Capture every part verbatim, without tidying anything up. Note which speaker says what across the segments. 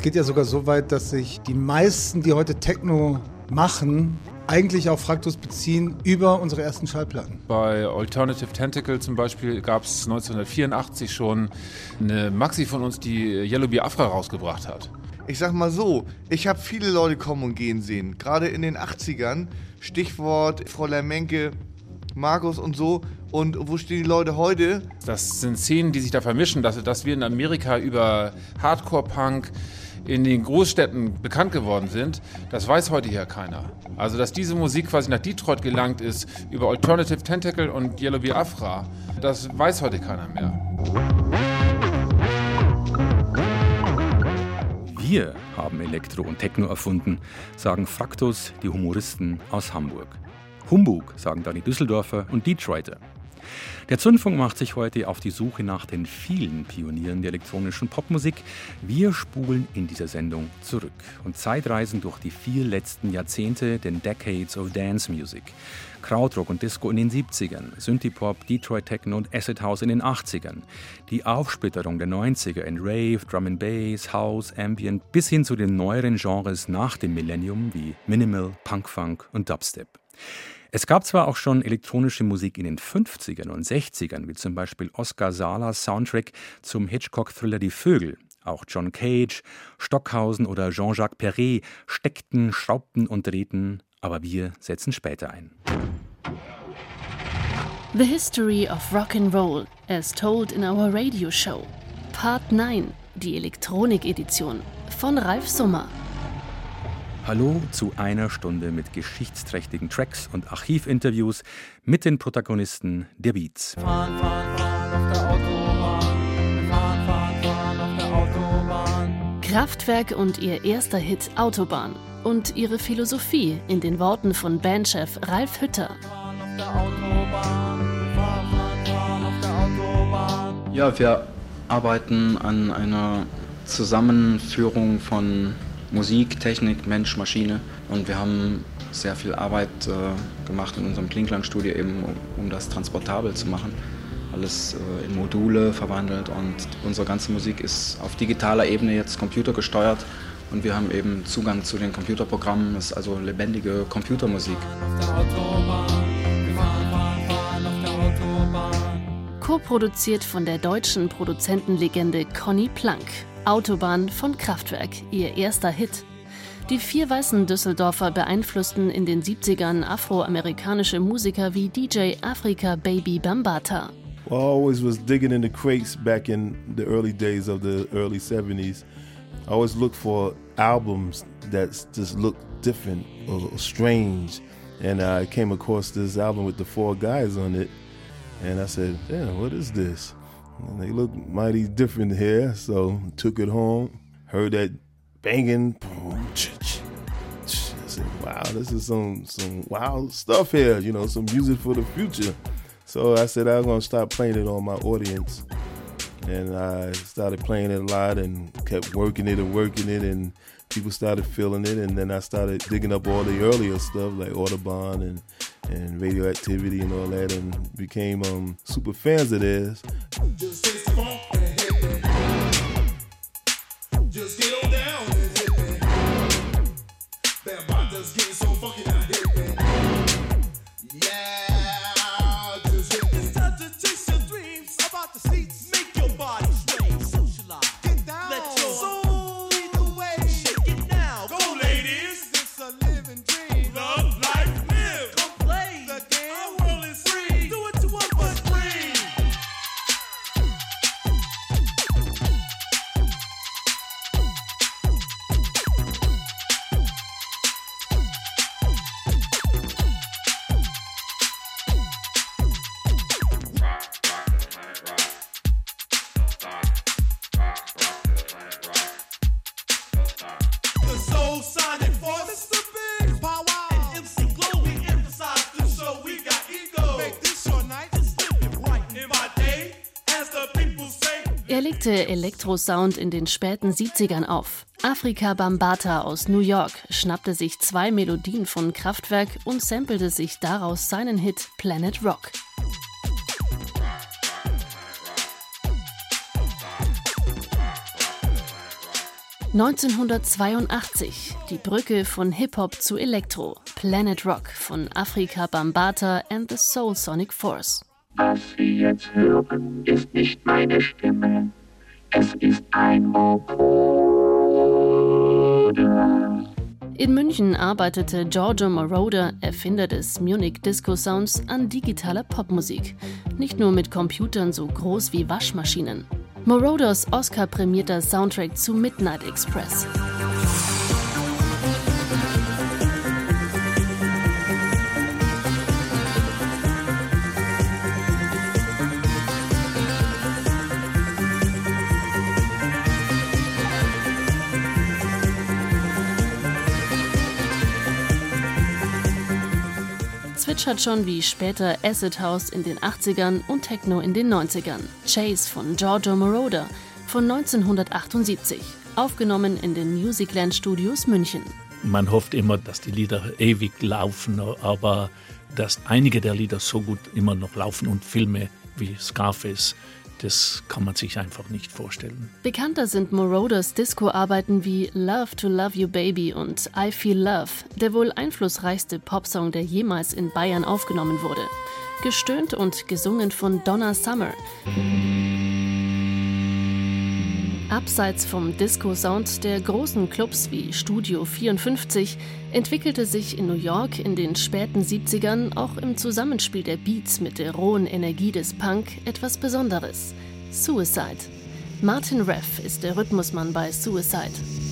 Speaker 1: geht ja sogar so weit, dass sich die meisten, die heute Techno machen, eigentlich auf Fraktus beziehen über unsere ersten Schallplatten.
Speaker 2: Bei Alternative Tentacle zum Beispiel gab es neunzehnhundertvierundachtzig schon eine Maxi von uns, die Yellow Biafra rausgebracht hat.
Speaker 3: Ich sag mal so, ich habe viele Leute kommen und gehen sehen, gerade in den achtzigern, Stichwort Fräulein Menke, Markus und so. Und wo stehen die Leute heute?
Speaker 2: Das sind Szenen, die sich da vermischen, dass, dass wir in Amerika über Hardcore-Punk in den Großstädten bekannt geworden sind, das weiß heute hier keiner. Also, dass diese Musik quasi nach Detroit gelangt ist über Alternative Tentacle und Yellow Biafra, das weiß heute keiner mehr.
Speaker 4: Wir haben Elektro und Techno erfunden, sagen Fraktus, die Humoristen aus Hamburg. Humbug, sagen dann die Düsseldorfer und Detroiter. Der Zündfunk macht sich heute auf die Suche nach den vielen Pionieren der elektronischen Popmusik. Wir spulen in dieser Sendung zurück und zeitreisen durch die vier letzten Jahrzehnte, den Decades of Dance Music. Krautrock und Disco in den siebzigern, Synthie-Pop, Detroit Techno und Acid House in den achtzigern. Die Aufsplitterung der neunziger in Rave, Drum and Bass, House, Ambient bis hin zu den neueren Genres nach dem Millennium wie Minimal, Punk-Funk und Dubstep. Es gab zwar auch schon elektronische Musik in den fünfzigern und sechzigern, wie zum Beispiel Oscar Salas Soundtrack zum Hitchcock-Thriller Die Vögel. Auch John Cage, Stockhausen oder Jean-Jacques Perret steckten, schraubten und drehten, aber wir setzen später ein.
Speaker 5: The History of Rock and Roll, as told in our radio show. Part neun, die Elektronik-Edition von Ralf Summer.
Speaker 4: Hallo zu einer Stunde mit geschichtsträchtigen Tracks und Archivinterviews mit den Protagonisten der Beats.
Speaker 6: Fahren, fahren, fahren auf der Autobahn. Wir fahren, fahren, fahren auf der Autobahn.
Speaker 5: Kraftwerk und ihr erster Hit Autobahn und ihre Philosophie in den Worten von Bandchef Ralf Hütter.
Speaker 6: Fahren auf der Autobahn. Wir fahren, fahren, fahren auf der Autobahn.
Speaker 7: Ja, wir arbeiten an einer Zusammenführung von Musik, Technik, Mensch, Maschine. Und wir haben sehr viel Arbeit äh, gemacht in unserem Klingklang-Studio, eben um, um das transportabel zu machen. Alles äh, in Module verwandelt und unsere ganze Musik ist auf digitaler Ebene jetzt computergesteuert. Und wir haben eben Zugang zu den Computerprogrammen, das ist also lebendige Computermusik.
Speaker 5: Co-produziert von der deutschen Produzentenlegende Conny Plank. Autobahn von Kraftwerk, ihr erster Hit. Die vier weißen Düsseldorfer beeinflussten in den siebzigern afroamerikanische Musiker wie D J Afrika Baby Bambaataa.
Speaker 8: Well, I always was digging in the crates back in the early days of the early seventies. I always looked for albums that just looked different or strange. And I came across this album with the four guys on it. And I said, damn, what is this? And they look mighty different here, so took it home, heard that banging, boom, I said, wow, this is some some wild stuff here, you know, some music for the future. So I said I was gonna start playing it on my audience, and I started playing it a lot and kept working it and working it, and people started feeling it, and then I started digging up all the earlier stuff like Audubon and and Radioactivity and all that, and became um, super fans of theirs.
Speaker 9: Just hit the funk and hit me. Just get on down and hit me. Bambaataa's getting so funky now, hit me. Yeah, just hit me. It's time to chase your dreams about the seats. Make your body sway, socialize. Get down. Let your soul lead the way. Shake it now. Go, ladies. It's a living dream. Love, life, live. Come play the game. Our world is free. Do it to us but free. The soul sonic force is the big power. And M C Glow, we emphasize this show. We got ego. Make this your night. Just live it right in my day. As the people say.
Speaker 5: Er legte Elektrosound in den späten siebzigern auf. Afrika Bambaataa aus New York schnappte sich zwei Melodien von Kraftwerk und sampelte sich daraus seinen Hit Planet Rock. neunzehnhundertzweiundachtzig, die Brücke von Hip-Hop zu Elektro, Planet Rock von Afrika Bambaataa and the Soul Sonic Force.
Speaker 10: Was Sie jetzt hören, ist nicht meine Stimme, es ist ein Vocoder.
Speaker 5: In München arbeitete Giorgio Moroder, Erfinder des Munich Disco Sounds, an digitaler Popmusik. Nicht nur mit Computern so groß wie Waschmaschinen. Moroders Oscar-prämierter Soundtrack zu Midnight Express. Zwitschert schon wie später Acid House in den achtzigern und Techno in den neunzigern. Chase von Giorgio Moroder von neunzehnhundertachtundsiebzig, aufgenommen in den Musicland Studios München.
Speaker 11: Man hofft immer, dass die Lieder ewig laufen, aber dass einige der Lieder so gut immer noch laufen und Filme wie Scarface, das kann man sich einfach nicht vorstellen.
Speaker 5: Bekannter sind Moroders Disco-Arbeiten wie Love to Love You Baby und I Feel Love, der wohl einflussreichste Popsong, der jemals in Bayern aufgenommen wurde. Gestöhnt und gesungen von Donna Summer. Abseits vom Disco-Sound der großen Clubs wie Studio vierundfünfzig entwickelte sich in New York in den späten siebzigern auch im Zusammenspiel der Beats mit der rohen Energie des Punk etwas Besonderes. Suicide. Martin Reff ist der Rhythmusmann bei Suicide.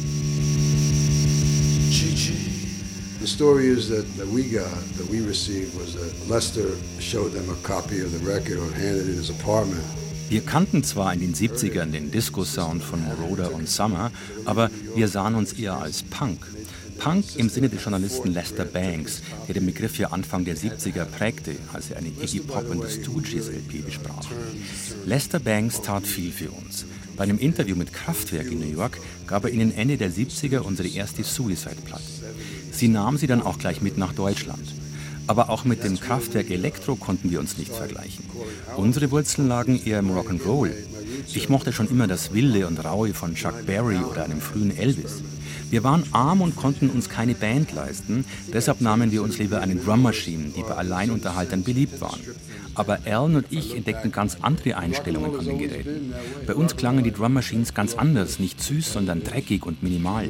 Speaker 12: The story is that, that we got, that we received, was that Lester showed them a copy of the record or handed it in his apartment.
Speaker 4: Wir kannten zwar in den siebzigern den Disco-Sound von Moroder und Summer, aber wir sahen uns eher als Punk. Punk im Sinne des Journalisten Lester Bangs, der den Begriff ja Anfang der siebziger prägte, als er eine Iggy Pop and the Stooges L P besprach. Lester Bangs tat viel für uns. Bei einem Interview mit Kraftwerk in New York gab er ihnen Ende der siebziger unsere erste Suicide-Platte. Sie nahm sie dann auch gleich mit nach Deutschland. Aber auch mit dem Kraftwerk Elektro konnten wir uns nicht vergleichen. Unsere Wurzeln lagen eher im Rock'n'Roll. Ich mochte schon immer das Wilde und Raue von Chuck Berry oder einem frühen Elvis. Wir waren arm und konnten uns keine Band leisten, deshalb nahmen wir uns lieber eine Drum Machine, die bei Alleinunterhaltern beliebt waren. Aber Alan und ich entdeckten ganz andere Einstellungen an den Geräten. Bei uns klangen die Drum Machines ganz anders, nicht süß, sondern dreckig und minimal.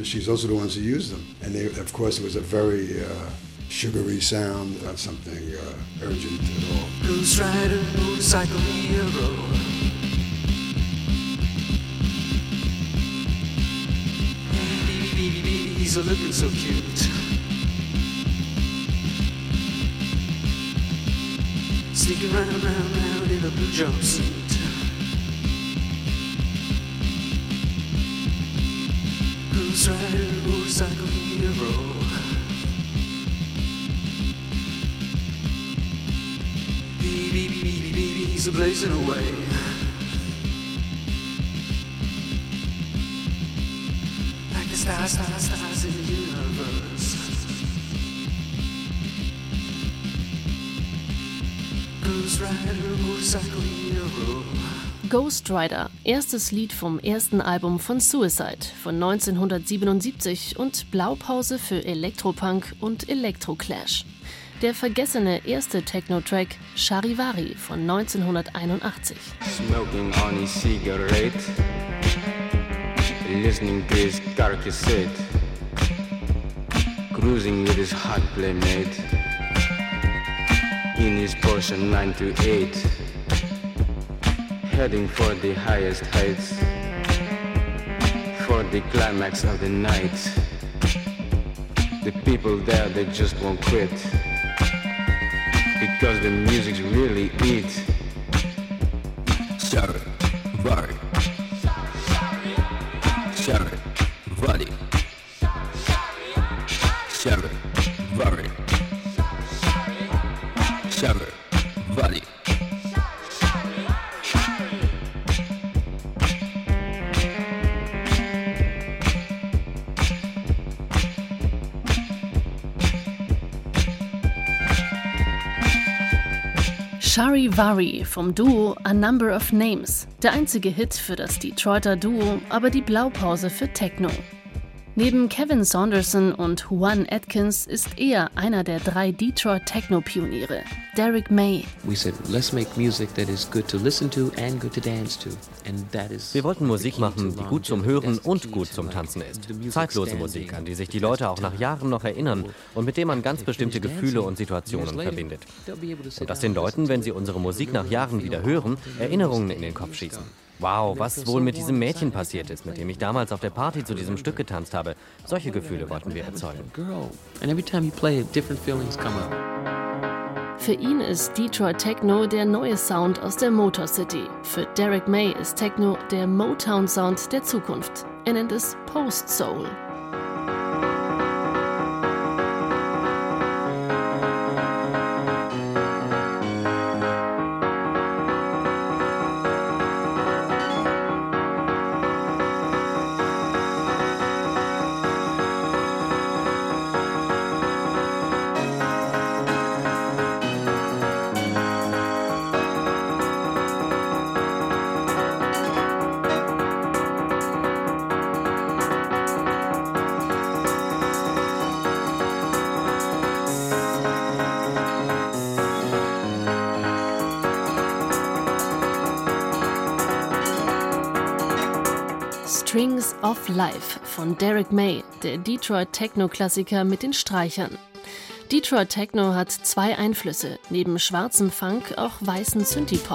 Speaker 12: Sugary sound, not something uh, urgent at all.
Speaker 9: Blues rider, motorcycle hero. He's a looking so cute. Sneaking round, round, round in a blue jumpsuit. Blues rider, motorcycle hero. He's blazing away. Like the stars, stars, stars in the universe. Ghost Rider, motorcycle hero.
Speaker 5: Ghost Rider, erstes Lied vom ersten Album von Suicide von neunzehnhundertsiebenundsiebzig und Blaupause für Elektropunk und Elektroclash. Der vergessene erste Techno-Track Charivari von neunzehnhunderteinundachtzig.
Speaker 13: Smoking on his cigarette, listening to his car cassette, cruising with his hot playmate, in his Porsche nine two eight, heading for the highest heights, for the climax of the night. The people there, they just won't quit. Because the music's really it.
Speaker 14: Charivari. Charivari. Charivari. Charivari.
Speaker 5: Charivari vom Duo A Number of Names. Der einzige Hit für das Detroiter Duo, aber die Blaupause für Techno. Neben Kevin Saunderson und Juan Atkins ist er einer der drei Detroit-Techno-Pioniere, Derrick May.
Speaker 15: We said, let's make music that is good to listen to and good to dance to. And that is
Speaker 16: Wir wollten Musik machen, die gut zum Hören und gut zum Tanzen ist. Zeitlose Musik, an die sich die Leute auch nach Jahren noch erinnern und mit der man ganz bestimmte Gefühle und Situationen verbindet. Und dass den Leuten, wenn sie unsere Musik nach Jahren wieder hören, Erinnerungen in den Kopf schießen. Wow, was wohl mit diesem Mädchen passiert ist, mit dem ich damals auf der Party zu diesem Stück getanzt habe. Solche Gefühle wollten wir erzeugen.
Speaker 5: Für ihn ist Detroit Techno der neue Sound aus der Motor City. Für Derrick May ist Techno der Motown-Sound der Zukunft. Er nennt es Post-Soul. Strings of Life von Derrick May, der Detroit-Techno-Klassiker mit den Streichern. Detroit Techno hat zwei Einflüsse, neben schwarzem Funk auch weißen Synthie-Pop.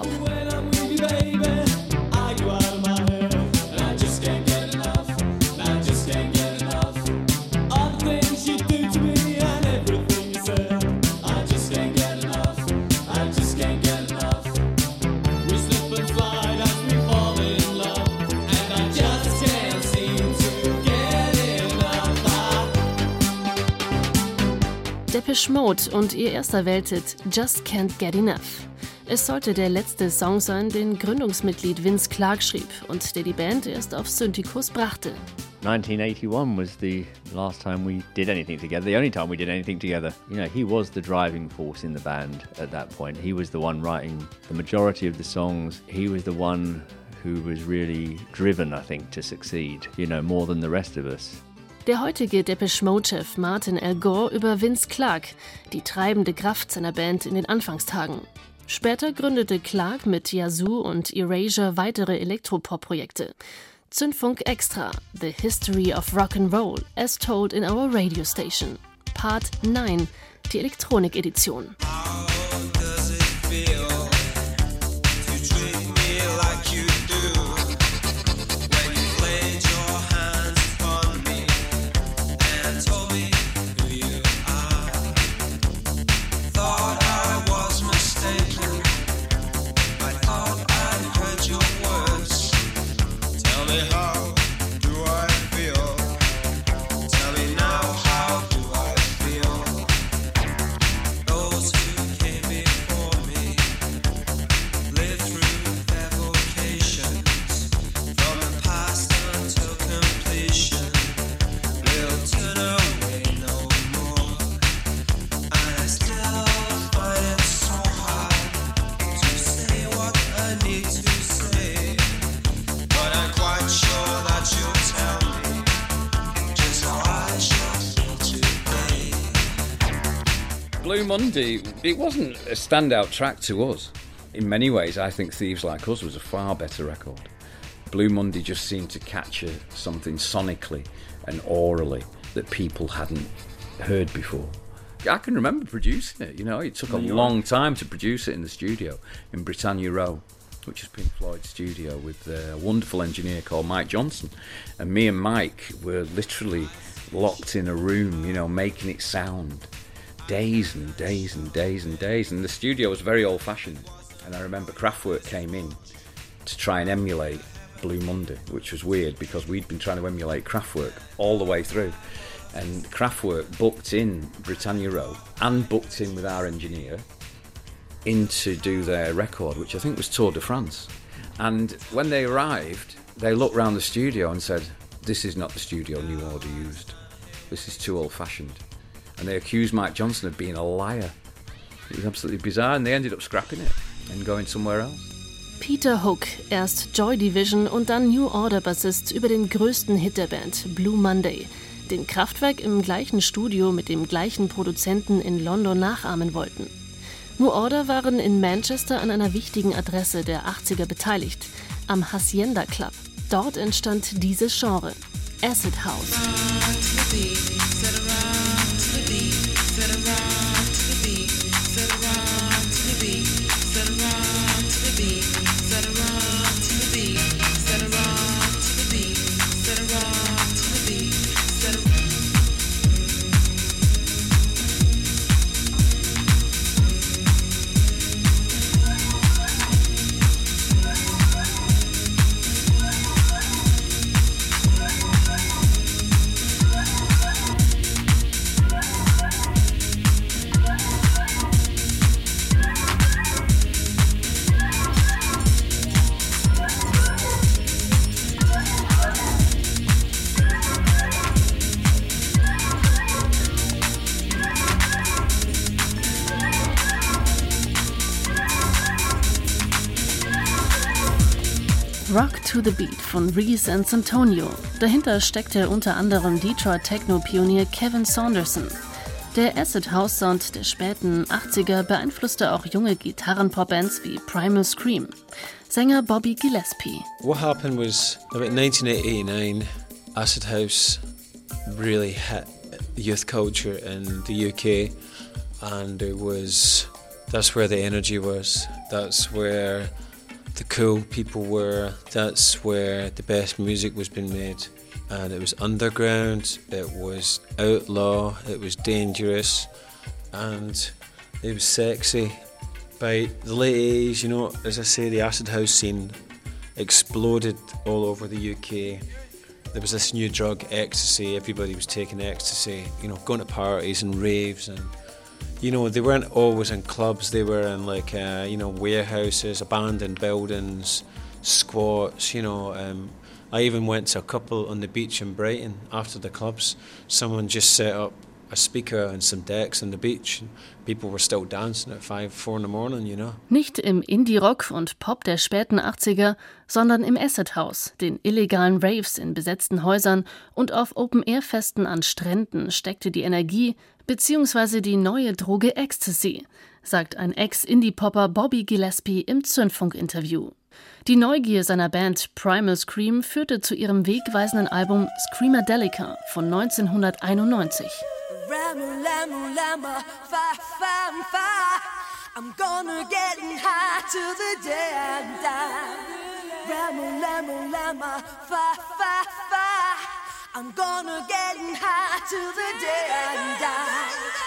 Speaker 5: Depeche Mode und ihr erster Welthit Just Can't Get Enough. Es sollte der letzte Song sein, den Gründungsmitglied Vince Clarke schrieb und der die Band erst auf Synthicus brachte.
Speaker 17: nineteen eighty-one was the last time we did anything together, the only time we did anything together. You know, he was the driving force in the band at that point. He was the one writing the majority of the songs. He was the one who was really driven, I think, to succeed, you know, more than the rest of us.
Speaker 5: Der heutige Depeche Mode-Chef Martin Al Gore über Vince Clarke, die treibende Kraft seiner Band in den Anfangstagen. Später gründete Clarke mit Yazoo und Erasure weitere Elektropop-Projekte. Zündfunk Extra, The History of Rock'n'Roll, as told in our radio station. Part neun, die Elektronik-Edition.
Speaker 18: Blue Monday, it wasn't a standout track to us. In many ways, I think Thieves Like Us was a far better record. Blue Monday just seemed to capture something sonically and aurally that people hadn't heard before. I can remember producing it, you know, it took a long time to produce it in the studio in Britannia Row, which is Pink Floyd's studio, with a wonderful engineer called Mike Johnson. And me and Mike were literally locked in a room, you know, making it sound. Days and days and days and days, and the studio was very old-fashioned. And I remember Kraftwerk came in to try and emulate Blue Monday, which was weird because we'd been trying to emulate Kraftwerk all the way through. And Kraftwerk booked in Britannia Row and booked in with our engineer in to do their record, which I think was Tour de France. And when they arrived, they looked around the studio and said, "This is not the studio New Order used. This is too old-fashioned." And they accused Mike Johnson of being a liar. It was absolutely bizarre, and they ended up scrapping it and going somewhere else.
Speaker 5: Peter Hook, erst Joy Division und dann New Order Bassist über den größten Hit der Band, Blue Monday, den Kraftwerk im gleichen Studio mit dem gleichen Produzenten in London nachahmen wollten. New Order waren in Manchester an einer wichtigen Adresse der achtziger beteiligt, am Hacienda Club. Dort entstand dieses Genre, Acid House. Rock to the Beat von Reese and Santonio. Dahinter steckte unter anderem Detroit-Techno-Pionier Kevin Saunderson. Der Acid-House-Sound der späten achtziger beeinflusste auch junge Gitarren-Pop-Bands wie Primal Scream. Sänger Bobby Gillespie.
Speaker 19: What happened was, about nineteen eighty-nine, Acid House really hit youth culture in the U K, and it was, that's where the energy was, that's where the cool people were, that's where the best music was being made. And it was underground, it was outlaw, it was dangerous, and it was sexy. By the late eighties, you know, as I say, the acid house scene exploded all over the U K. There was this new drug, ecstasy, everybody was taking ecstasy, you know, going to parties and raves, and you know, they weren't always in clubs, they were in like, uh, you know, warehouses, abandoned buildings, squats, you know. Um, I even went to a couple on the beach in Brighton after the clubs. Someone just set up a speaker and some decks on the beach. People were still dancing at five, four in the morning, you know.
Speaker 5: Nicht im Indie-Rock und Pop der späten achtziger, sondern im Acid House, den illegalen Raves in besetzten Häusern und auf Open-Air-Festen an Stränden steckte die Energie bzw. die neue Droge Ecstasy, sagt ein Ex-Indie-Popper Bobby Gillespie im Zündfunk-Interview. Die Neugier seiner Band Primal Scream führte zu ihrem wegweisenden Album Screamadelica von neunzehnhunderteinundneunzig.
Speaker 9: I'm gonna get high till the day I die. Ramo, lamo, lama, fa, fa, fa. I'm gonna get high till the day I die.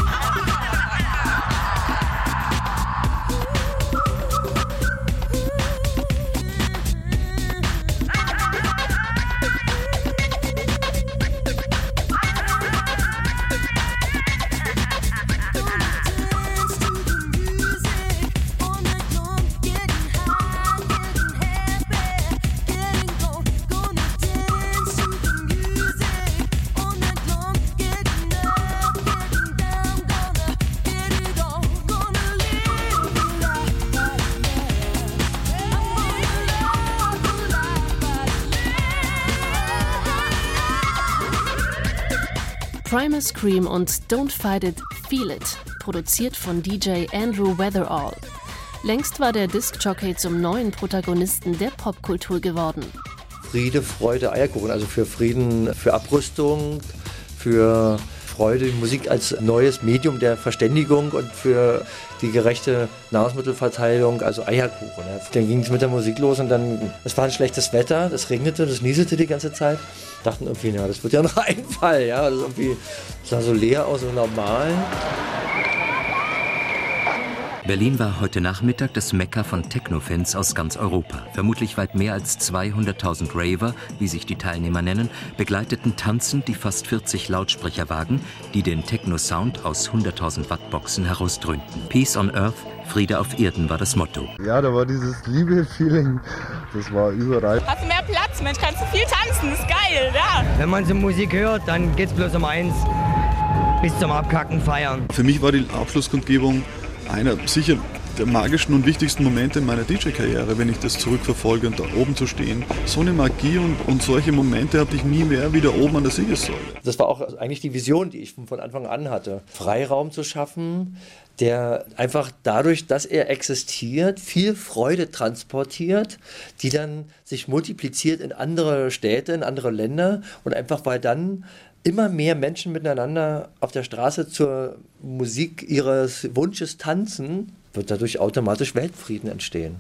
Speaker 5: Primal Scream und Don't Fight It, Feel It, produziert von D J Andrew Weatherall. Längst war der Disc-Jockey zum neuen Protagonisten der Popkultur geworden.
Speaker 20: Friede, Freude, Eierkuchen, also für Frieden, für Abrüstung, für Freude, die Musik als neues Medium der Verständigung und für die gerechte Nahrungsmittelverteilung, also Eierkuchen. Ja. Dann ging es mit der Musik los und dann, es war ein schlechtes Wetter, es regnete, das nieselte die ganze Zeit. Dachten irgendwie, na, das wird ja noch ein Fall, ja, das, irgendwie, das sah so leer aus, so normal.
Speaker 21: Berlin war heute Nachmittag das Mekka von Techno-Fans aus ganz Europa. Vermutlich weit mehr als zweihunderttausend Raver, wie sich die Teilnehmer nennen, begleiteten tanzend die fast vierzig Lautsprecherwagen, die den Techno-Sound aus hunderttausend Watt-Boxen herausdröhnten. Peace on Earth, Friede auf Erden war das Motto.
Speaker 22: Ja, da war dieses Liebe-Feeling, das war überall.
Speaker 23: Hast du mehr Platz, Mensch, kannst du viel tanzen, ist geil, ja.
Speaker 24: Wenn man so Musik hört, dann geht's bloß um eins, bis zum Abkacken feiern.
Speaker 25: Für mich war die Abschlusskundgebung einer sicher
Speaker 1: der magischen und wichtigsten Momente meiner D J-Karriere, wenn ich das zurückverfolge und da oben zu stehen. So eine Magie und, und solche Momente hatte ich nie mehr wie da oben an der Siegessäule.
Speaker 20: Das war auch eigentlich die Vision, die ich von Anfang an hatte. Freiraum zu schaffen, der einfach dadurch, dass er existiert, viel Freude transportiert, die dann sich multipliziert in andere Städte, in andere Länder und einfach weil dann immer mehr Menschen miteinander auf der Straße zur Musik ihres Wunsches tanzen, wird dadurch automatisch Weltfrieden entstehen.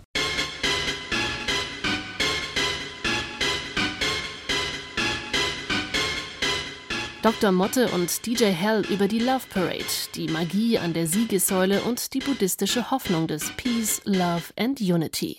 Speaker 5: Doktor Motte und D J Hell über die Love Parade, die Magie an der Siegessäule und die buddhistische Hoffnung des Peace, Love and Unity.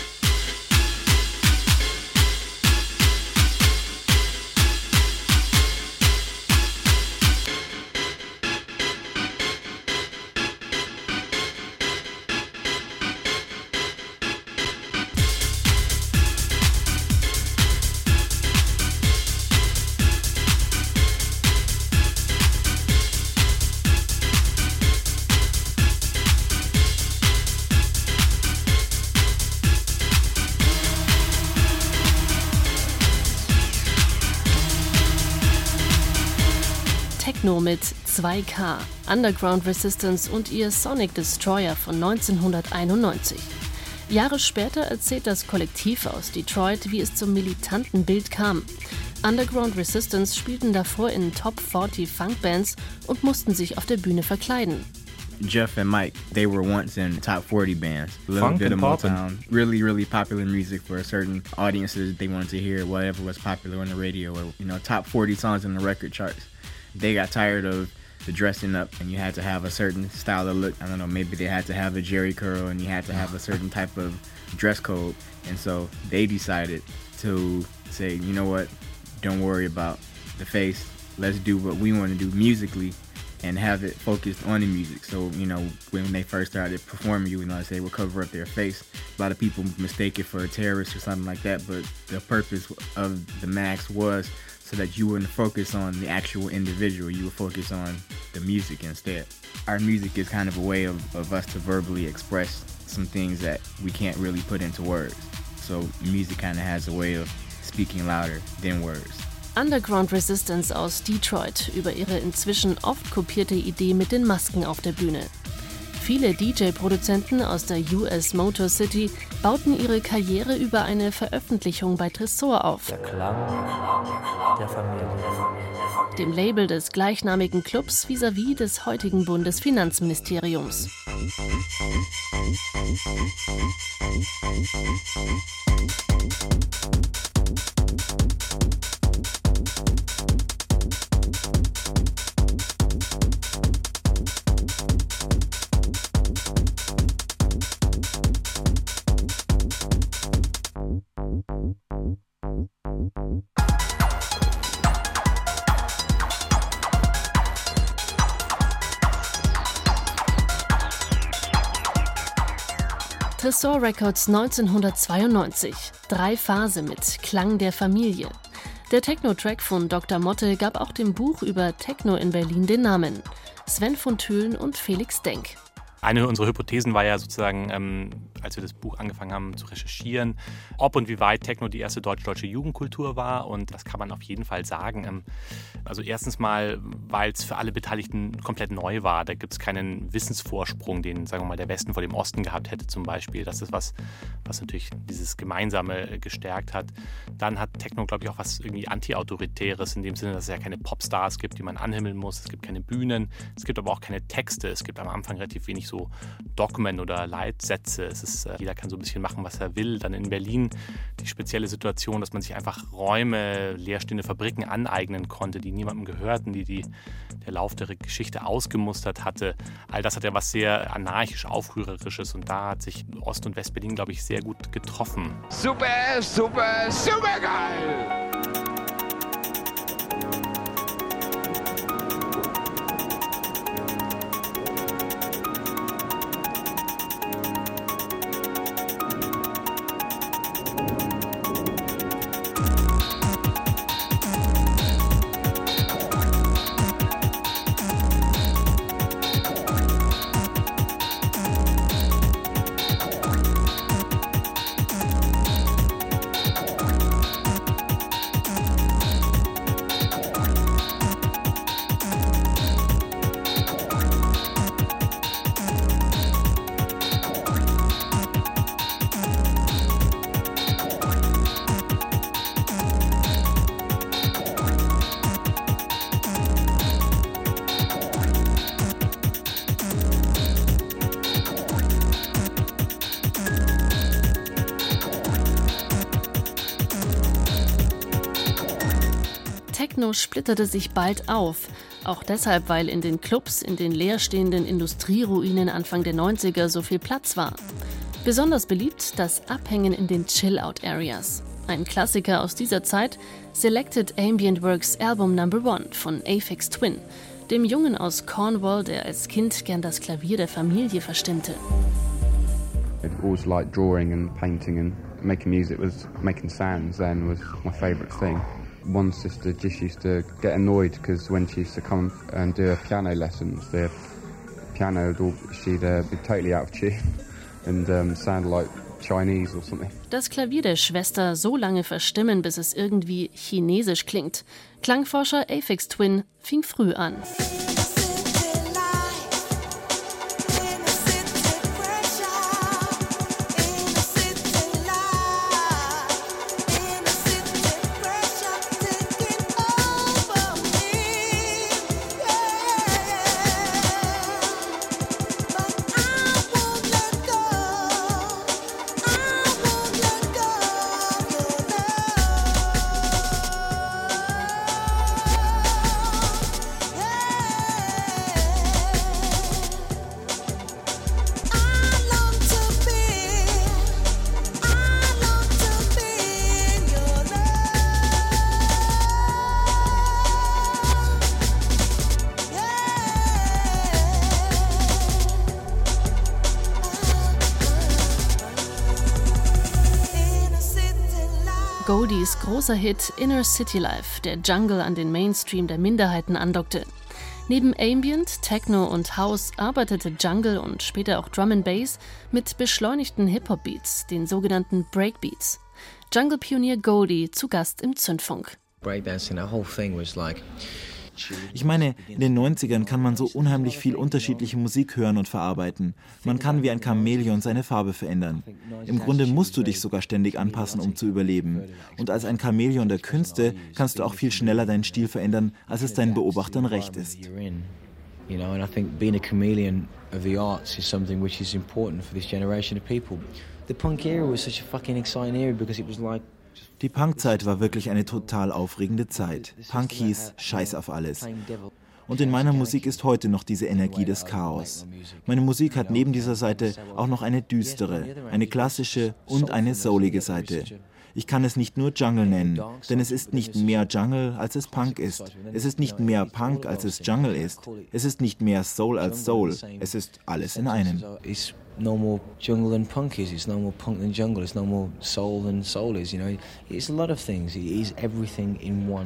Speaker 5: Techno mit zwei K, Underground Resistance und ihr Sonic Destroyer von neunzehnhunderteinundneunzig. Jahre später erzählt das Kollektiv aus Detroit, wie es zum militanten Bild kam. Underground Resistance spielten davor in Top vierzig Funkbands und mussten sich auf der Bühne verkleiden.
Speaker 2: Jeff and Mike, they were once in top forty bands. A little
Speaker 3: Funk
Speaker 2: bit of
Speaker 3: and poppin'.
Speaker 2: Motown. Really, really popular music for certain audiences. They wanted to hear whatever was popular on the radio or, you know, top forty songs in the record charts. They got tired of the dressing up and you had to have a certain style of look. I don't know, maybe they had to have a jerry curl and you had to have a certain type of dress code. And so they decided to say, you know what, don't worry about the face. Let's do what we want to do musically and have it focused on the music. So, you know, when they first started performing, you know, they would cover up their face. A lot of people mistake it for a terrorist or something like that, but the purpose of the mask was so that you wouldn't focus on the actual individual, you would focus on the music instead. Our music is kind of a way of, of us to verbally express some things that we can't really put into words. So music kind of has a way of speaking louder than words.
Speaker 5: Underground Resistance aus Detroit über ihre inzwischen oft kopierte Idee mit den Masken auf der Bühne. Viele D J-Produzenten aus der U S Motor City bauten ihre Karriere über eine Veröffentlichung bei Tresor auf.
Speaker 20: Der Klang der Familie.
Speaker 5: Dem Label des gleichnamigen Clubs vis-à-vis des heutigen Bundesfinanzministeriums. Tresor Records neunzehnhundertzweiundneunzig. Drei Phase mit Klang der Familie. Der Techno-Track von Doktor Motte gab auch dem Buch über Techno in Berlin den Namen. Sven von Thülen und Felix Denk.
Speaker 3: Eine unserer Hypothesen war ja sozusagen, ähm, als wir das Buch angefangen haben zu recherchieren, ob und wie weit Techno die erste deutsch-deutsche Jugendkultur war. Und das kann man auf jeden Fall sagen. Ähm, also erstens mal, weil es für alle Beteiligten komplett neu war. Da gibt es keinen Wissensvorsprung, den, sagen wir mal, der Westen vor dem Osten gehabt hätte zum Beispiel. Das ist was, was natürlich dieses Gemeinsame gestärkt hat. Dann hat Techno, glaube ich, auch was irgendwie Anti-Autoritäres in dem Sinne, dass es ja keine Popstars gibt, die man anhimmeln muss. Es gibt keine Bühnen. Es gibt aber auch keine Texte. Es gibt am Anfang relativ wenig so Dogmen oder Leitsätze. Es ist, äh, jeder kann so ein bisschen machen, was er will. Dann in Berlin die spezielle Situation, dass man sich einfach Räume, leerstehende Fabriken aneignen konnte, die niemandem gehörten, die, die der Lauf der Geschichte ausgemustert hatte. All das hat ja was sehr anarchisch Aufrührerisches und da hat sich Ost- und West-Berlin, glaube ich, sehr gut getroffen.
Speaker 13: Super, super, super geil!
Speaker 5: Techno splitterte sich bald auf. Auch deshalb, weil in den Clubs, in den leerstehenden Industrieruinen Anfang der neunziger so viel Platz war. Besonders beliebt das Abhängen in den Chill-Out-Areas. Ein Klassiker aus dieser Zeit, Selected Ambient Works Album Number One von Aphex Twin, dem Jungen aus Cornwall, der als Kind gern das Klavier der Familie verstimmte.
Speaker 6: I've always liked drawing and painting, and making music was making sounds then was my favourite thing. One sister just used to get annoyed because when she used to come and do her piano lessons, the piano, she'd uh, be totally out of tune and um, sound like Chinese or something.
Speaker 5: Das Klavier der Schwester so lange verstimmen, bis es irgendwie chinesisch klingt. Klangforscher Aphex Twin fing früh an. Goldies großer Hit Inner City Life, der Jungle an den Mainstream der Minderheiten andockte. Neben Ambient, Techno und House arbeitete Jungle und später auch Drum and Bass mit beschleunigten Hip-Hop-Beats, den sogenannten Breakbeats. Jungle-Pionier Goldie zu Gast im Zündfunk.
Speaker 7: Breakdancing, that whole thing was like
Speaker 8: Ich meine, in den neunzigern kann man so unheimlich viel unterschiedliche Musik hören und verarbeiten. Man kann wie ein Chamäleon seine Farbe verändern. Im Grunde musst du dich sogar ständig anpassen, um zu überleben. Und als ein Chamäleon der Künste kannst du auch viel schneller deinen Stil verändern, als es deinen Beobachtern recht ist.
Speaker 7: You know, and I think being a chameleon of the arts is something which is important for this generation of people. The punk era was such a fucking exciting era because it was like
Speaker 8: Die Punkzeit war wirklich eine total aufregende Zeit. Punk hieß Scheiß auf alles. Und in meiner Musik ist heute noch diese Energie des Chaos. Meine Musik hat neben dieser Seite auch noch eine düstere, eine klassische und eine soulige Seite. Ich kann es nicht nur Jungle nennen, denn es ist nicht mehr Jungle, als es Punk ist. Es ist nicht mehr Punk, als es Jungle ist. Es ist nicht mehr Soul als Soul. Es ist alles in einem.
Speaker 7: No more jungle than punk is. It's no more punk than jungle. It's no more soul than soul is. You know, it's a lot of things. It is everything in one.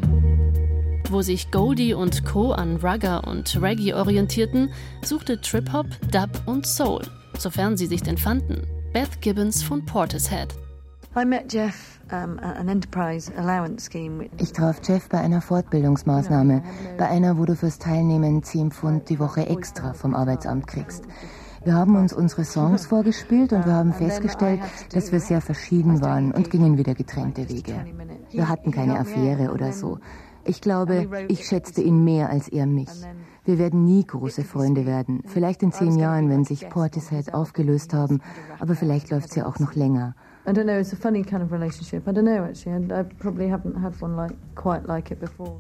Speaker 5: Wo sich Goldie und Co. an Ragga und Reggae orientierten, suchte Trip-Hop, Dub und Soul, sofern sie sich denn fanden. Beth Gibbons von Portishead.
Speaker 10: I met Jeff um, at an enterprise allowance scheme.
Speaker 25: Ich traf Jeff bei einer Fortbildungsmaßnahme, bei einer, wo du fürs Teilnehmen zehn Pfund die Woche extra vom Arbeitsamt kriegst. Wir haben uns unsere Songs vorgespielt und wir haben festgestellt, dass wir sehr verschieden waren und gingen wieder getrennte Wege. Wir hatten keine Affäre oder so. Ich glaube, ich schätzte ihn mehr als er mich. Wir werden nie große Freunde werden. Vielleicht in zehn Jahren, wenn sich Portishead aufgelöst haben, aber vielleicht läuft es ja auch noch länger.
Speaker 10: I don't know, it's a funny kind of relationship. I don't know actually, I probably haven't had one like quite like it before.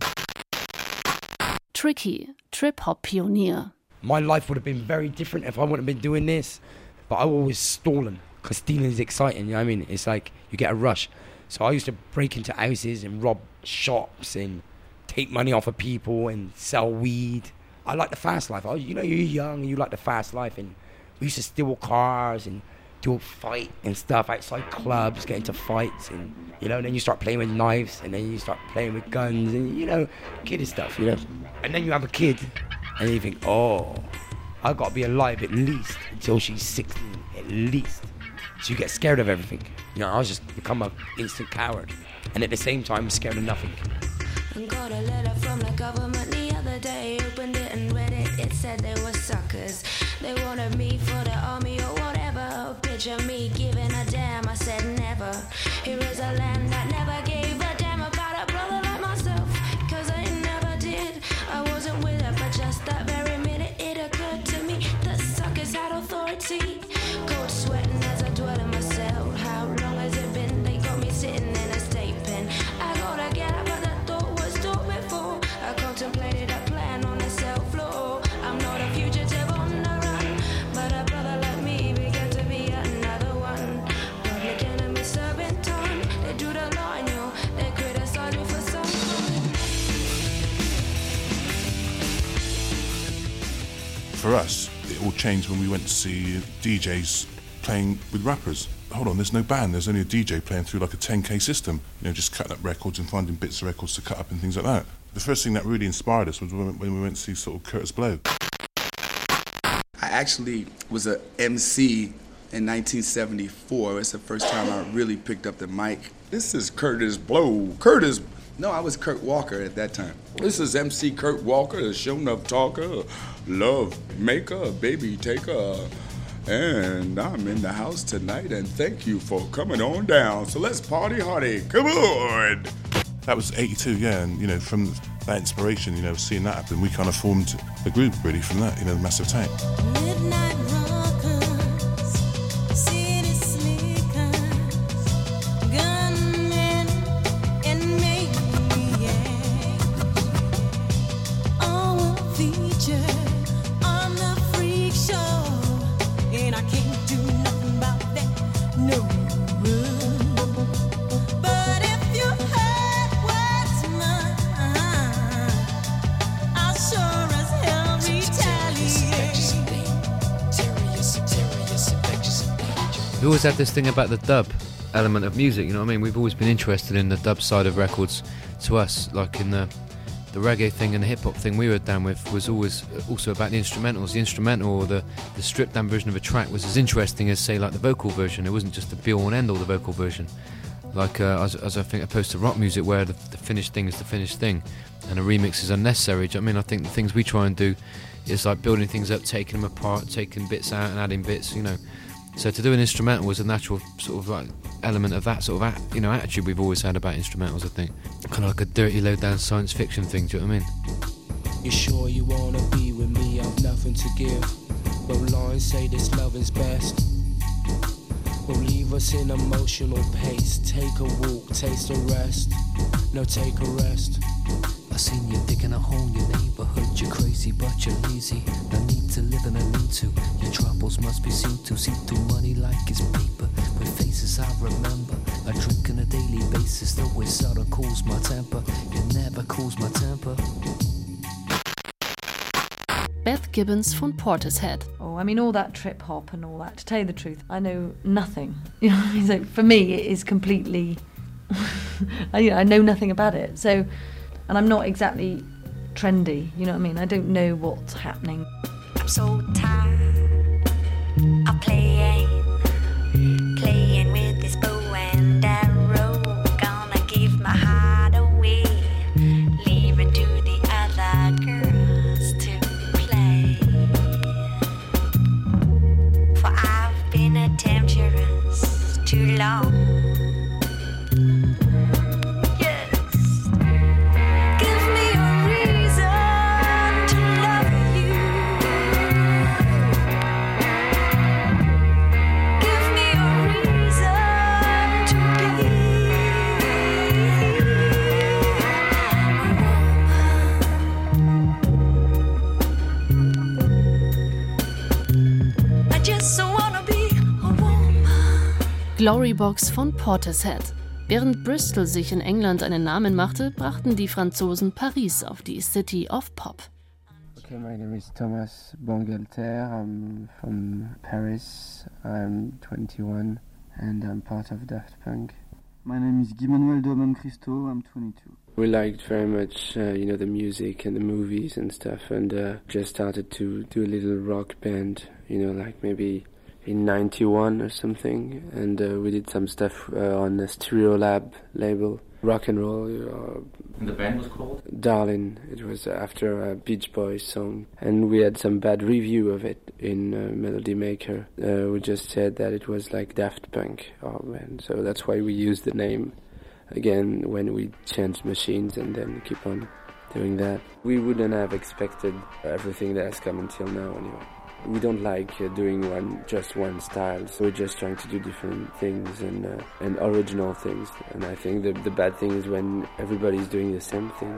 Speaker 5: Tricky, Trip-Hop-Pionier.
Speaker 26: My life would have been very different if I wouldn't have been doing this. But I was stalling, because stealing is exciting, you know what I mean? It's like you get a rush. So I used to break into houses and rob shops and take money off of people and sell weed. I like the fast life. I, you know, you're young and you like the fast life. And we used to steal cars and do a fight and stuff outside clubs, get into fights. And, you know, and then you start playing with knives and then you start playing with guns and, you know, kiddie stuff, you know. And then you have a kid. And you think, oh, I've got to be alive at least until she's sixteen, at least. So you get scared of everything. You know, I was just become an instant coward. And at the same time, scared of nothing.
Speaker 27: Got a letter from the government the other day. Opened it and read it. It said they were suckers. They wanted me for the army or whatever. Picture me giving a damn. I said never. Here is a land that never gave a damn about a brother like myself. Cause I never did. I wasn't with it, but just that very minute it occurred to me that suckers had authority. Cold sweating as I dwell in my cell. How long has it been? They got me sitting in a state pen. I gotta get up, but that thought was thought before.
Speaker 4: for us, it all changed when we went to see D Js playing with rappers. Hold on, there's no band, there's only a D J playing through like a ten K system, you know, just cutting up records and finding bits of records to cut up and things like that. The first thing that really inspired us was when we went to see sort of Curtis Blow.
Speaker 11: I actually was a M C in nineteen seventy-four. It's the first time I really picked up the mic. This is Curtis Blow. Curtis, no, I was Kurt Walker at that time. This is M C Kurt Walker, the show enough talker, love maker, baby taker. And I'm in the house tonight, and thank you for coming on down. So let's party hardy. Come on.
Speaker 4: That was eighty-two, yeah, and you know, from that inspiration, you know, seeing that happen, we kind of formed a group really from that, you know, Massive Tank.
Speaker 9: Midnight rockers, city slickers, gunmen and maniacs, all were featured on the freak show, and I can't do nothing about that, no. But if you heard what's mine, I'll sure as hell retaliate.
Speaker 12: We always had this thing about the dub element of music, you know what I mean? We've always been interested in the dub side of records. To us, like in the the reggae thing and the hip hop thing we were down with was always also about the instrumentals. The instrumental or the, the stripped down version of a track was as interesting as, say, like the vocal version. It wasn't just the be all and end all, the vocal version. Like uh, as, as I think opposed to rock music where the, the finished thing is the finished thing and a remix is unnecessary. Do you know what I mean? I think the things we try and do is like building things up, taking them apart, taking bits out and adding bits, you know. So to do an instrumental was a natural sort of like element of that sort of at, you know, attitude we've always had about instrumentals, I think. Kind of like a dirty, low-down science fiction thing, do you know what I mean?
Speaker 14: You sure you wanna be with me? I've nothing to give. But lines say this love is best. Will leave us in emotional pace. Take a walk, taste a rest. No, take a rest.
Speaker 15: I seen you digging a hole in your neighborhood. You're crazy, but you're lazy. No need to live in a lean to. Your troubles must be seen to. See through money like it's paper. With faces I remember. I drink on a daily basis. Though it seldom cools my temper. It never cools my temper.
Speaker 5: Beth Gibbons von Portishead.
Speaker 10: Oh, I mean, all that trip hop and all that. To tell you the truth, I know nothing. You know what I mean? So for me, it is completely. I, you know, I know nothing about it. So. And I'm not exactly trendy, you know what I mean? I don't know what's happening.
Speaker 27: I'm so tired of playing, playing with this bow and arrow. Gonna give my heart away, leave it to the other girls to play. For I've been a temptress too long.
Speaker 5: Glorybox von Portishead. Während Bristol sich in England einen Namen machte, brachten die Franzosen Paris auf die City of Pop.
Speaker 16: Okay, my name is Thomas Bangalter. I'm from Paris. I'm twenty-one and I'm part of Daft Punk.
Speaker 17: My name is Guy Manuel Doman Christo. I'm twenty-two.
Speaker 28: We liked very much, uh, you know, the music and the movies and stuff, and uh, just started to do a little rock band, you know, like maybe in ninety-one or something, and uh, we did some stuff uh, on the Stereolab label, rock and roll. Uh,
Speaker 3: and the band was called?
Speaker 28: Darlin'. It was after a Beach Boys song, and we had some bad review of it in uh, Melody Maker. Uh, we just said that it was like Daft Punk, oh man, so that's why we used the name again when we changed machines and then keep on doing that. We wouldn't have expected everything that has come until now anyway. We don't like uh, doing one just one style, so we're just trying to do different things and uh, and original things. And I think the the bad thing is when everybody's doing the same thing.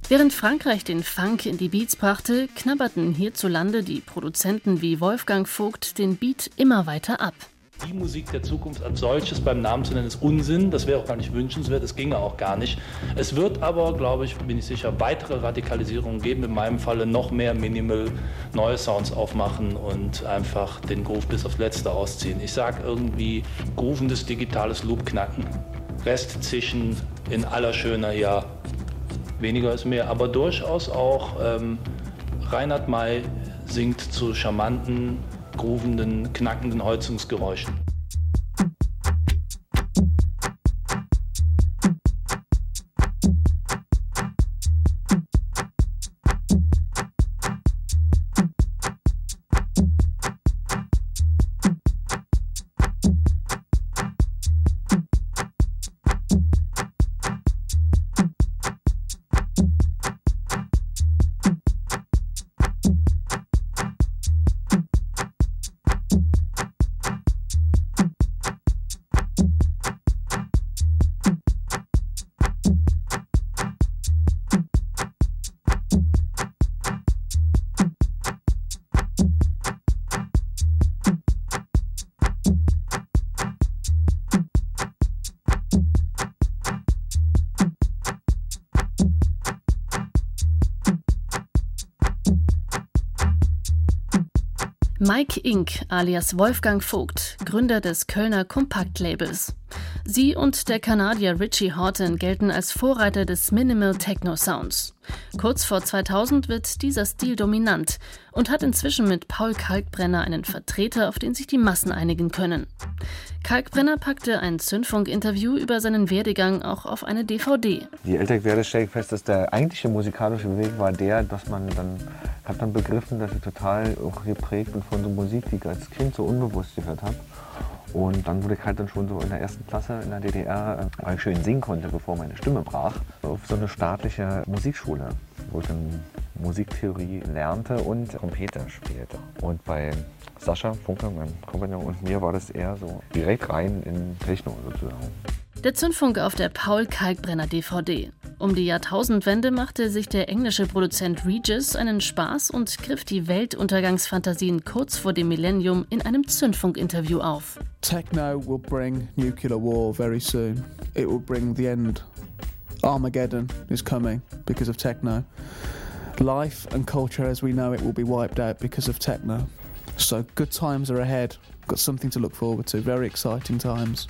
Speaker 5: Während Frankreich den Funk in die Beats brachte, knabberten hierzulande die Produzenten wie Wolfgang Vogt den Beat immer weiter ab.
Speaker 1: Die Musik der Zukunft als solches beim Namen zu nennen, ist Unsinn. Das wäre auch gar nicht wünschenswert, das ginge auch gar nicht. Es wird aber, glaube ich, bin ich sicher, weitere Radikalisierungen geben. In meinem Falle noch mehr Minimal, neue Sounds aufmachen und einfach den Groove bis aufs Letzte ausziehen. Ich sage irgendwie groovendes digitales Loop knacken. Rest zischen in aller Schöner, ja. Weniger ist mehr, aber durchaus auch ähm, Reinhard May singt zu charmanten, groovenden, knackenden Holzungsgeräuschen.
Speaker 5: Mike Inc. alias Wolfgang Vogt, Gründer des Kölner Kompakt-Labels. Sie und der Kanadier Richie Hawtin gelten als Vorreiter des Minimal Techno Sounds. Kurz vor zweitausend wird dieser Stil dominant und hat inzwischen mit Paul Kalkbrenner einen Vertreter, auf den sich die Massen einigen können. Kalkbrenner packte ein Zündfunk-Interview über seinen Werdegang auch auf eine D V D.
Speaker 2: Je älter ich werde, stelle ich fest, dass der eigentliche musikalische Weg war der, dass man dann, hat dann begriffen, dass ich total auch geprägt bin von so Musik, die ich als Kind so unbewusst gehört habe. Und dann wurde ich halt dann schon so in der ersten Klasse in der D D R, weil ich schön singen konnte, bevor meine Stimme brach, auf so eine staatliche Musikschule, wo ich dann Musiktheorie lernte und Trompete spielte. Und bei Sascha Funke, meinem Kompagnon, und mir war das eher so direkt rein in Techno sozusagen.
Speaker 5: Der Zündfunk auf der Paul Kalkbrenner D V D. Um die Jahrtausendwende machte sich der englische Produzent Regis einen Spaß und griff die Weltuntergangsfantasien kurz vor dem Millennium in einem Zündfunk-Interview auf.
Speaker 18: Techno will bring nuclear war very soon. It will bring the end. Armageddon is coming because of techno. Life and culture as we know it will be wiped out because of techno. So good times are ahead. Got something to look forward to. Very exciting times.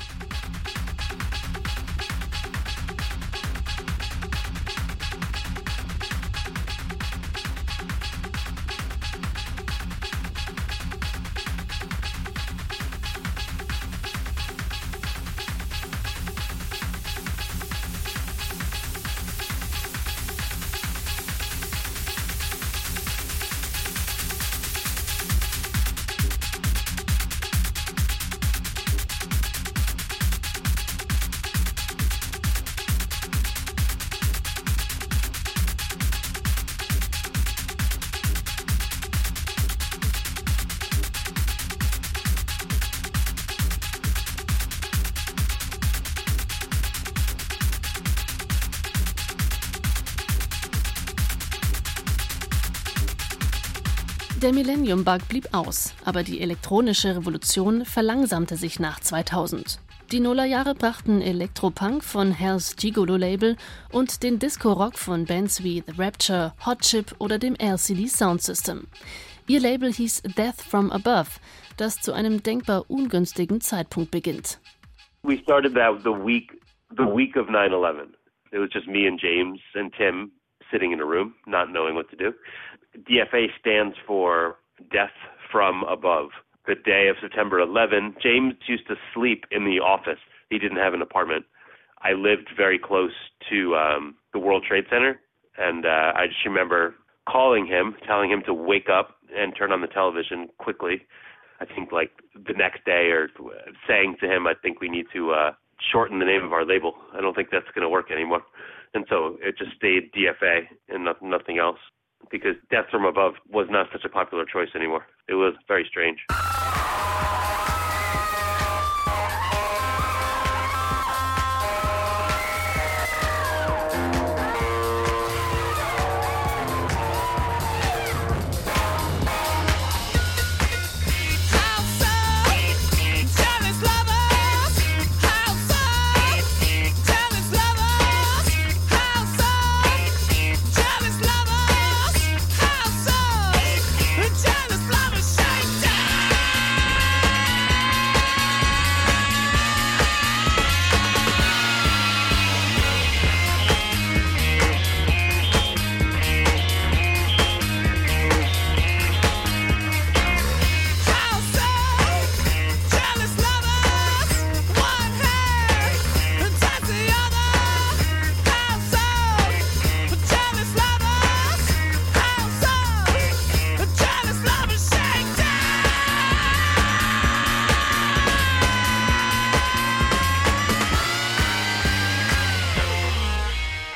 Speaker 5: Der Millennium-Bug blieb aus, aber die elektronische Revolution verlangsamte sich nach zweitausend. Die Nullerjahre brachten Elektropunk von Hell's Gigolo-Label und den Disco-Rock von Bands wie The Rapture, Hot Chip oder dem L C D Sound System. Ihr Label hieß Death from Above, das zu einem denkbar ungünstigen Zeitpunkt beginnt.
Speaker 19: We started that the week, the week of nine eleven. It was just me and James and Tim sitting in a room, not knowing what to do. D F A stands for Death from Above. The day of September eleventh, James used to sleep in the office. He didn't have an apartment. I lived very close to um, the World Trade Center, and uh, I just remember calling him, telling him to wake up and turn on the television quickly. I think like the next day, or saying to him, I think we need to uh, shorten the name of our label. I don't think that's going to work anymore. And so it just stayed D F A and no- nothing else, because Death from Above was not such a popular choice anymore. It was very strange.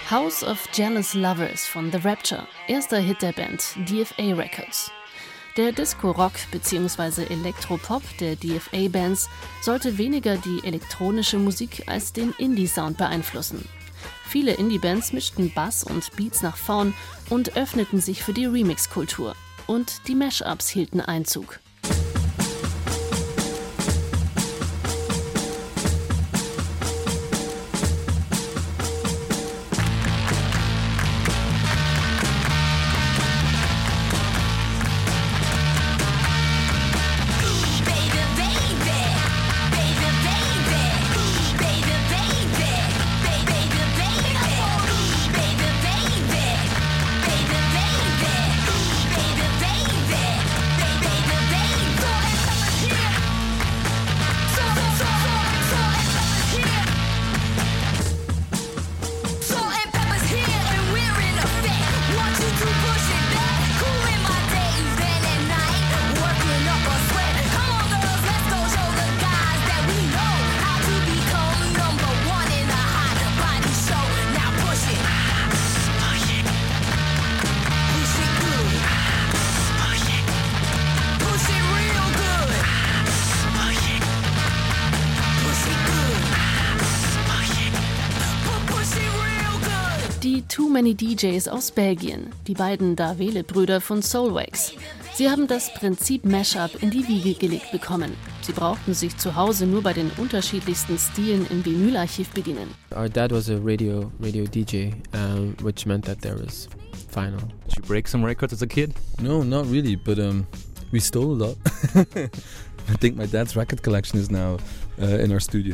Speaker 5: House of Jealous Lovers von The Rapture, erster Hit der Band D F A Records. Der Disco-Rock bzw. Elektropop der D F A-Bands sollte weniger die elektronische Musik als den Indie-Sound beeinflussen. Viele Indie-Bands mischten Bass und Beats nach vorn und öffneten sich für die Remix-Kultur. Und die Mashups hielten Einzug. Die Too Many D Js aus Belgien, die beiden Davele-Brüder von Soulwax. Sie haben das Prinzip Mashup in die Wiege gelegt bekommen. Sie brauchten sich zu Hause nur bei den unterschiedlichsten Stilen im Vinylarchiv bedienen.
Speaker 6: Our dad was a radio radio D J, um, which meant that there was vinyl.
Speaker 8: Did you break some records as a kid?
Speaker 13: No, not really, but um, we stole a lot. I think my dad's record collection is now uh, in our studio.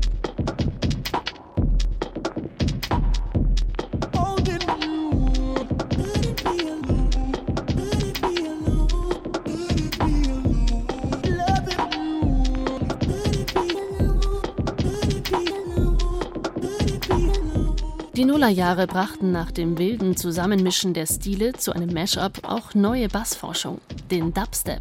Speaker 5: Die Nullerjahre brachten nach dem wilden Zusammenmischen der Stile zu einem Mashup auch neue Bassforschung, den Dubstep.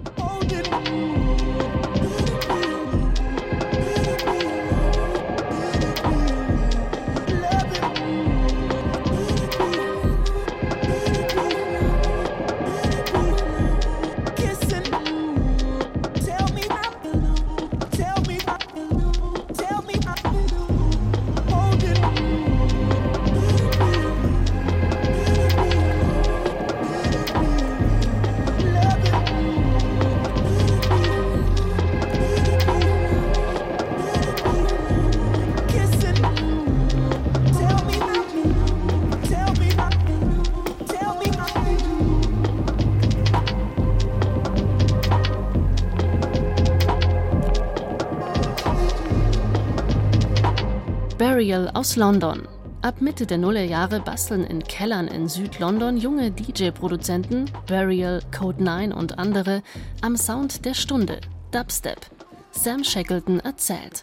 Speaker 5: Burial aus London. Ab Mitte der Nullerjahre basteln in Kellern in Süd-London junge D J-Produzenten, Burial, Code neun und andere, am Sound der Stunde, Dubstep. Sam Shackleton erzählt.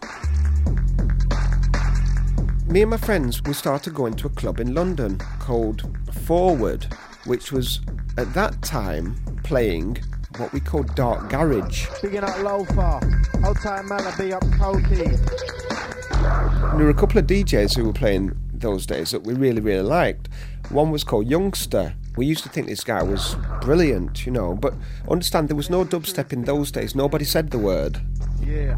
Speaker 20: Me and my friends, we started going to a club in London called Forward, which was at that time playing what we called dark garage.
Speaker 21: Bigging up Lofa, Old Time Malaby up Pokey.
Speaker 20: There were a couple of D Js who were playing those days that we really, really liked. One was called Youngster. We used to think this guy was brilliant, you know, but understand there was no dubstep in those days. Nobody said the word.
Speaker 21: Yeah.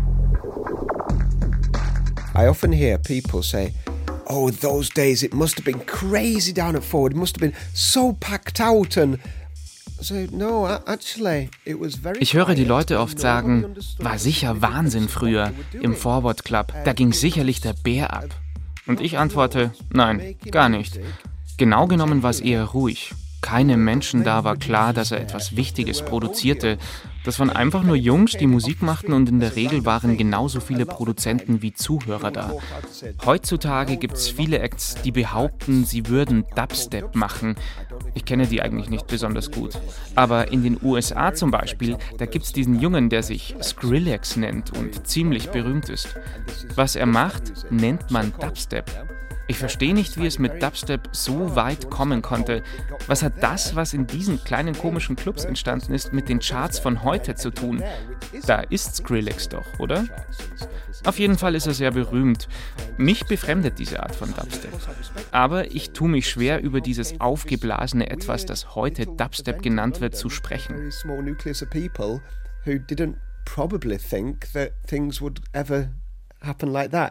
Speaker 20: I often hear people say, oh, those days it must have been crazy down at Forward. It must have been so packed out and... So, no, actually, it was very...
Speaker 22: Ich höre die Leute oft sagen, war sicher Wahnsinn früher im Forward Club, da ging sicherlich der Bär ab. Und ich antworte, nein, gar nicht. Genau genommen war es eher ruhig. Keinem Menschen da war klar, dass er etwas Wichtiges produzierte. Das waren einfach nur Jungs, die Musik machten und in der Regel waren genauso viele Produzenten wie Zuhörer da. Heutzutage gibt es viele Acts, die behaupten, sie würden Dubstep machen. Ich kenne die eigentlich nicht besonders gut. Aber in den U S A zum Beispiel, da gibt es diesen Jungen, der sich Skrillex nennt und ziemlich berühmt ist. Was er macht, nennt man Dubstep. Ich verstehe nicht, wie es mit Dubstep so weit kommen konnte. Was hat das, was in diesen kleinen komischen Clubs entstanden ist, mit den Charts von heute zu tun? Da ist Skrillex doch, oder? Auf jeden Fall ist er sehr berühmt. Mich befremdet diese Art von Dubstep. Aber ich tue mich schwer, über dieses aufgeblasene Etwas, das heute Dubstep genannt wird, zu sprechen.
Speaker 20: Who didn't probably think that things would ever happen like that.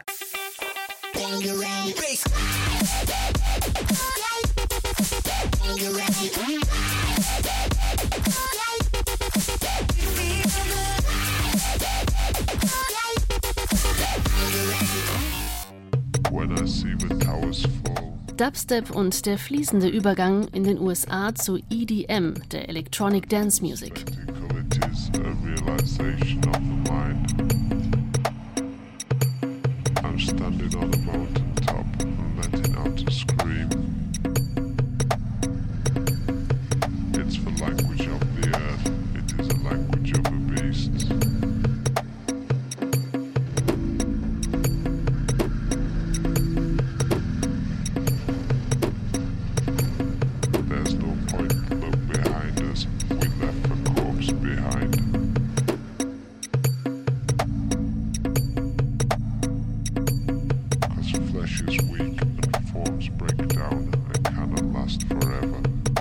Speaker 5: Dubstep und der fließende Übergang in den U S A zu E D M, der Electronic Dance Music.
Speaker 4: I'm standing on a mountain top and letting out a scream. It's the language of the earth, it is a language of the beasts. There's no point to look behind us, we left the corpse behind. Flesh is weak and forms break down and cannot last forever.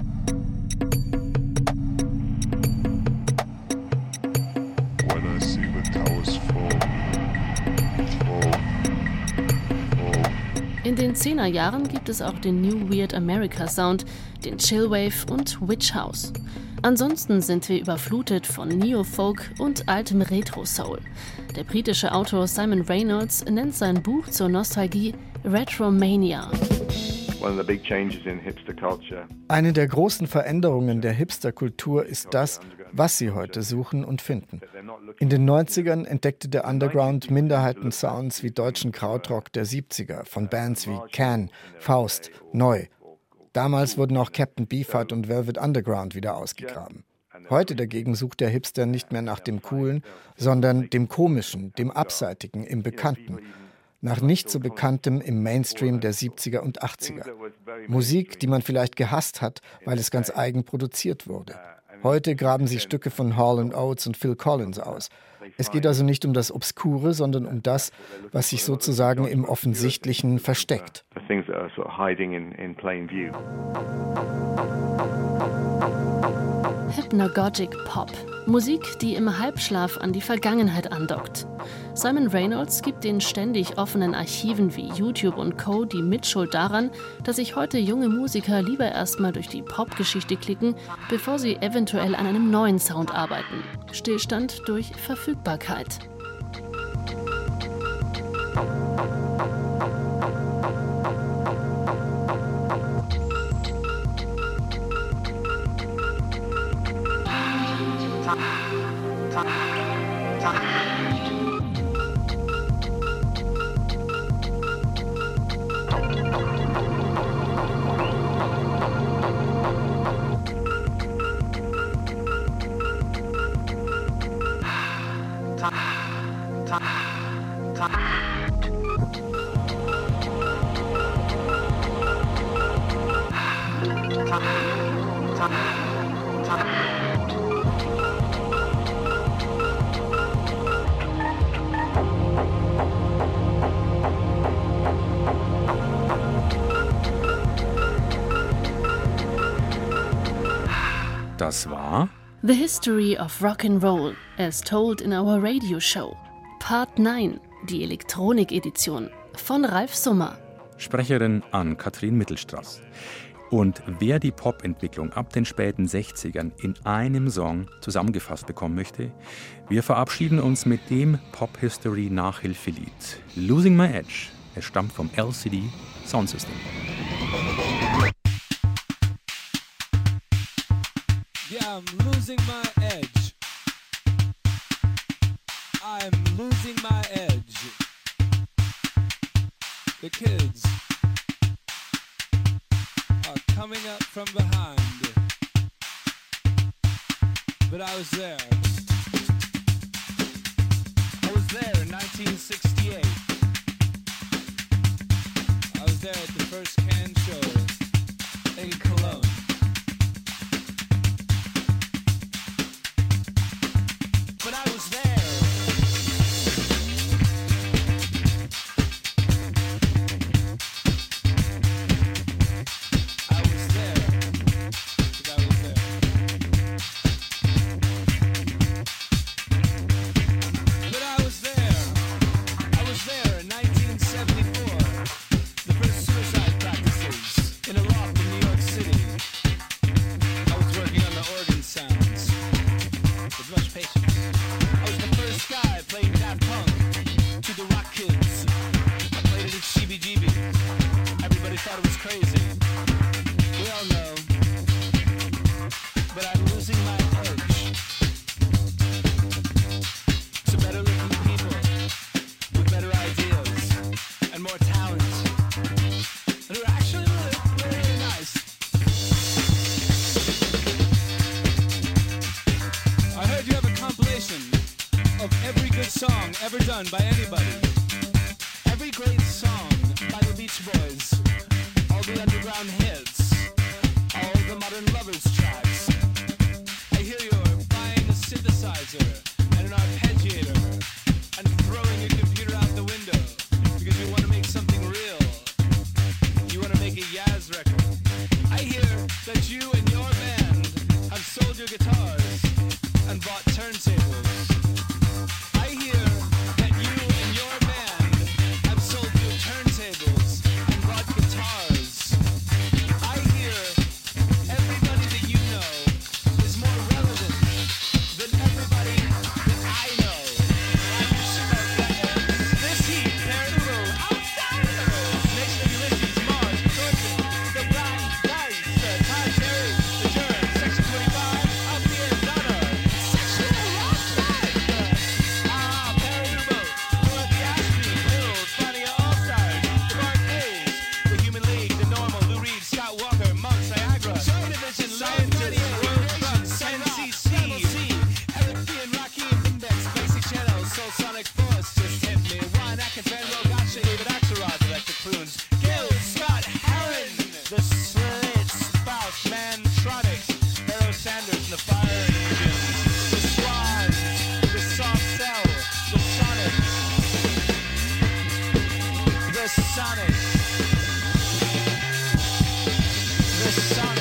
Speaker 4: When I see the towers fall, fall, fall.
Speaker 5: In den Zehnerjahren gibt es auch den New Weird America Sound, den Chillwave und Witch House. Ansonsten sind wir überflutet von Neo-Folk und altem Retro-Soul. Der britische Autor Simon Reynolds nennt sein Buch zur Nostalgie Retromania.
Speaker 7: Eine der großen Veränderungen der Hipster-Kultur ist das, was sie heute suchen und finden. In den neunzigern entdeckte der Underground Minderheiten-Sounds wie deutschen Krautrock der siebziger von Bands wie Can, Faust, Neu. Damals wurden auch Captain Beefheart und Velvet Underground wieder ausgegraben. Heute dagegen sucht der Hipster nicht mehr nach dem Coolen, sondern dem Komischen, dem Abseitigen, im Bekannten. Nach nicht so Bekanntem im Mainstream der siebziger und achtziger. Musik, die man vielleicht gehasst hat, weil es ganz eigen produziert wurde. Heute graben sie Stücke von Hall and Oates und Phil Collins aus. Es geht also nicht um das Obskure, sondern um das, was sich sozusagen im Offensichtlichen versteckt.
Speaker 5: Hypnagogic Pop. Musik, die im Halbschlaf an die Vergangenheit andockt. Simon Reynolds gibt den ständig offenen Archiven wie YouTube und Co. die Mitschuld daran, dass sich heute junge Musiker lieber erstmal durch die Popgeschichte klicken, bevor sie eventuell an einem neuen Sound arbeiten. Stillstand durch Verfügbarkeit.
Speaker 9: Das war
Speaker 5: The History of Rock and Roll, as told in our radio show. Part neun, die Elektronik-Edition von Ralf Summer.
Speaker 9: Sprecherin Ann-Kathrin Mittelstraß. Und wer die Pop-Entwicklung ab den späten sechzigern in einem Song zusammengefasst bekommen möchte, wir verabschieden uns mit dem Pop-History-Nachhilfelied Losing My Edge. Es stammt vom L C D Sound System.
Speaker 14: Yeah, I'm losing my edge. I'm losing my edge. The kids are coming up from behind. But I was there. I was there in nineteen sixty-eight. I was
Speaker 10: there at the first can show in Cologne. But I was there. I was there. Because I was there. But I was there. I was there in nineteen seventy-four. The first suicide practices in a loft in New York City. I was working on the organ sounds with much patience. I was the first guy playing Daft Punk to the Rock Kids. I played it at C B G B. Everybody thought it was crazy. We all know. But I'm losing my edge to better looking people with better ideas and more talent. And who are actually really, really, really nice. I heard you have a compilation of every good song ever done by anybody. Every great song by the Beach Boys. All the underground hits. All the modern lovers tracks. I hear you're buying a synthesizer and an arpeggiator and throwing your computer out the window because you want to make something real. You want to make a Yaz record. I hear that you and your band have sold your guitars and bought turntables. I hear that you and your band have sold your turntables and bought guitars. I hear everybody that you know is more relevant than everybody that I know. I'm smoking this heat, Peru, outsiders, Nation of Ulysses, Mars, Thornton, the Black Dice, the Todd Terry, the Germ, Section twenty-five, Althea Donna, Sexual Rockside, Ah, Peru, Dorothy Ashby, Bill, Fania All-Stars, the Barclays, the Human League, the Normal, Lou Reed, Scott Walker, Monks, Niagara, Joy Division, Lion twenty-eight, World Trucks, N C C, Eric B and Rocky and Index, Basic Channel, Soul Sonic Force, Just Hit Me, Ryan Atkins, Van Rowe, Gotcha, David Axelrod, Electric Prunes, Gil, Scott, Heron, The Slits, Spouse, Mantronics, Barrow Sanders, and the Fire Engines, The Swans, The Soft Cell, The Sonics, The Sonics, The Sonics.